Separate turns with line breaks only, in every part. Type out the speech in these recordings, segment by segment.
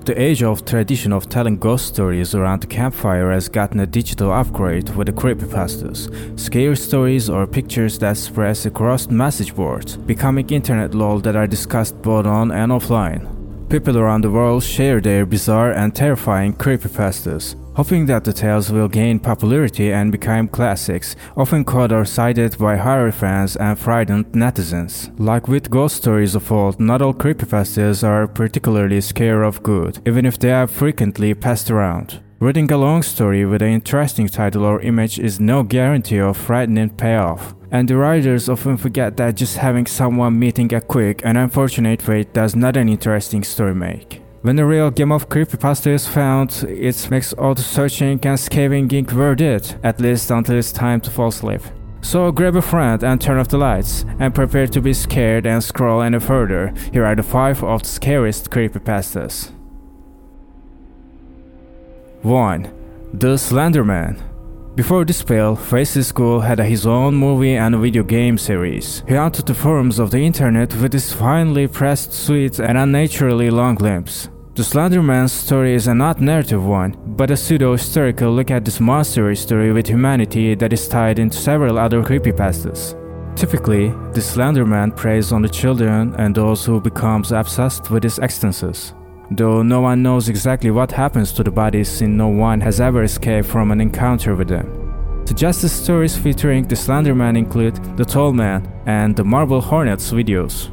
The age-old tradition of telling ghost stories around the campfire has gotten a digital upgrade with the creepypastas, scary stories or pictures that spread across message boards, becoming internet lore that are discussed both on and offline. People around the world share their bizarre and terrifying creepypastas, hoping that the tales will gain popularity and become classics, often caught or cited by horror fans and frightened netizens. Like with ghost stories of old, not all creepypastas are particularly scare of good, even if they are frequently passed around. Reading a long story with an interesting title or image is no guarantee of frightening payoff, and the writers often forget that just having someone meeting a quick and unfortunate fate does not an interesting story make. When the real game of creepypasta is found, it makes all the searching and scavenging worth it, at least until it's time to fall asleep. So grab a friend and turn off the lights, and prepare to be scared and scroll any further. Here are the 5 of the scariest creepypastas. 1. The Slender Man. Before this spell, Faces School had his own movie and video game series. He haunted the forums of the internet with his finely pressed suits and unnaturally long limbs. The Slender Man's story is a not narrative one, but a pseudo-historical look at this monstrous story with humanity that is tied into several other creepypastas. Typically, the Slender Man preys on the children and those who becomes obsessed with his ecstasies. Though no one knows exactly what happens to the bodies since no one has ever escaped from an encounter with them. Suggested stories featuring the Slender Man include The Tall Man and the Marble Hornets videos.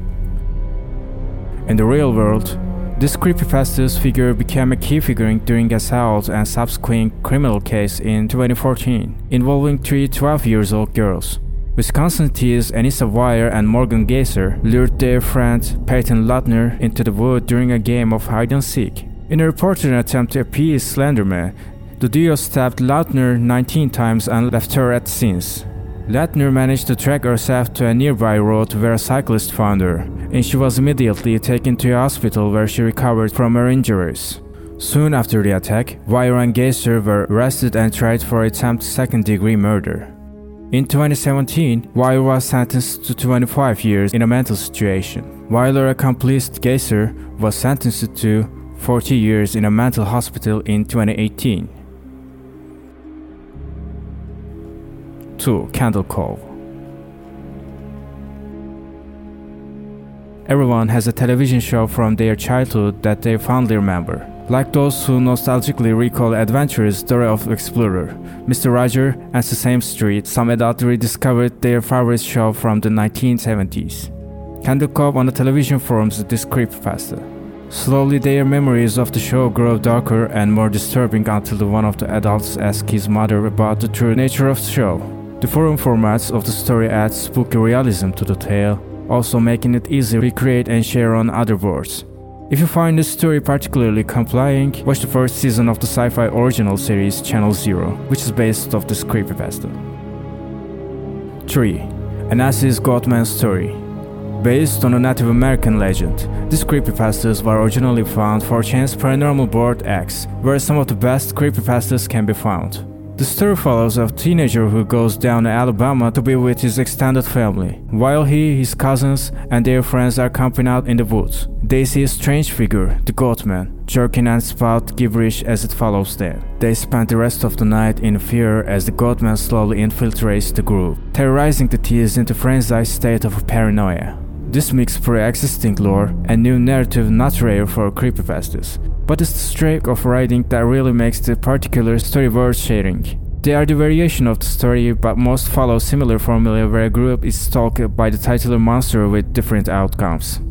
In the real world, this creepypasta's figure became a key figure during a assault and subsequent criminal case in 2014 involving 3 12-year-old girls. Wisconsin teens Anissa Weier and Morgan Geyser lured their friend Peyton Lautner into the woods during a game of hide-and-seek. In a reported attempt to appease Slender Man, the duo stabbed Lautner 19 times and left her at the scenes. Lautner managed to track herself to a nearby road where a cyclist found her, and she was immediately taken to a hospital where she recovered from her injuries. Soon after the attack, Weier and Geyser were arrested and tried for attempted second-degree murder. In 2017, Weier was sentenced to 25 years in a mental situation, while her accomplice Geyser was sentenced to 40 years in a mental hospital in 2018. 2. Candle Cove. Everyone has a television show from their childhood that they fondly remember. Like those who nostalgically recall adventurous story of explorer, Mr. Roger and Sesame Street, some adults rediscovered their favorite show from the 1970s. Candle Cove on the television forums this creepypasta. Slowly their memories of the show grow darker and more disturbing until one of the adults asks his mother about the true nature of the show. The forum formats of the story adds spooky realism to the tale, also making it easy to recreate and share on other boards. If you find this story particularly compelling, watch the first season of the sci-fi original series Channel Zero, which is based off this creepypasta. 3. Anas's Goatman Story. Based on a Native American legend, these creepypastas were originally found for Chance Paranormal Board X, where some of the best creepypastas can be found. The story follows a teenager who goes down to Alabama to be with his extended family. While he, his cousins, and their friends are camping out in the woods, they see a strange figure, the Goatman, jerking and spout gibberish as it follows them. They spend the rest of the night in fear as the Goatman slowly infiltrates the group, terrorizing the teens into a frenzied state of paranoia. This mixes pre-existing lore and new narrative not rare for creepypastas, but it's the streak of writing that really makes the particular story worth sharing. They are the variation of the story, but most follow similar formula where a group is stalked by the titular monster with different outcomes.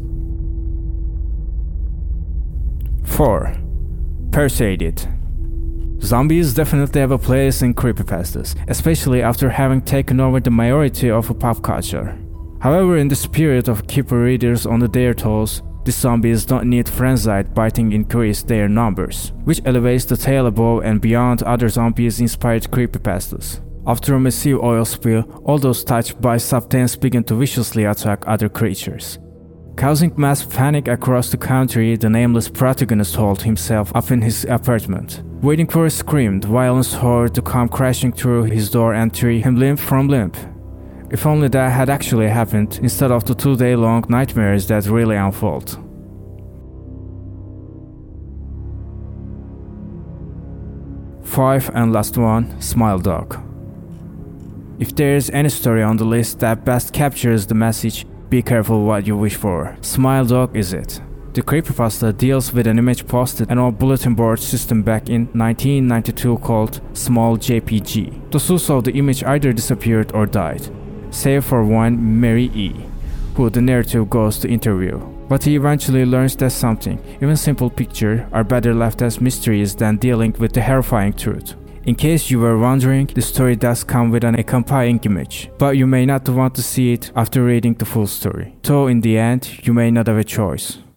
4. Persuaded. Zombies definitely have a place in creepypastas, especially after having taken over the majority of pop culture. However, in the spirit of keeping readers on their toes, the zombies don't need frenzied biting increase their numbers, which elevates the tale above and beyond other zombies-inspired creepypastas. After a massive oil spill, all those touched by substance begin to viciously attack other creatures. Causing mass panic across the country, the nameless protagonist holed himself up in his apartment, waiting for a screamed, violent horde to come crashing through his door and tear him limb from limb. If only that had actually happened, instead of the 2-day-long nightmares that really unfold. 5 and last one, Smile Dog. If there is any story on the list that best captures the message, be careful what you wish for. Smile Dog is it. The creepypasta deals with an image posted on a bulletin board system back in 1992 called Small JPG. The source of the image either disappeared or died, save for one Mary E., who the narrative goes to interview. But he eventually learns that something, even simple pictures, are better left as mysteries than dealing with the horrifying truth. In case you were wondering, the story does come with an accompanying image, but you may not want to see it after reading the full story. So in the end, you may not have a choice.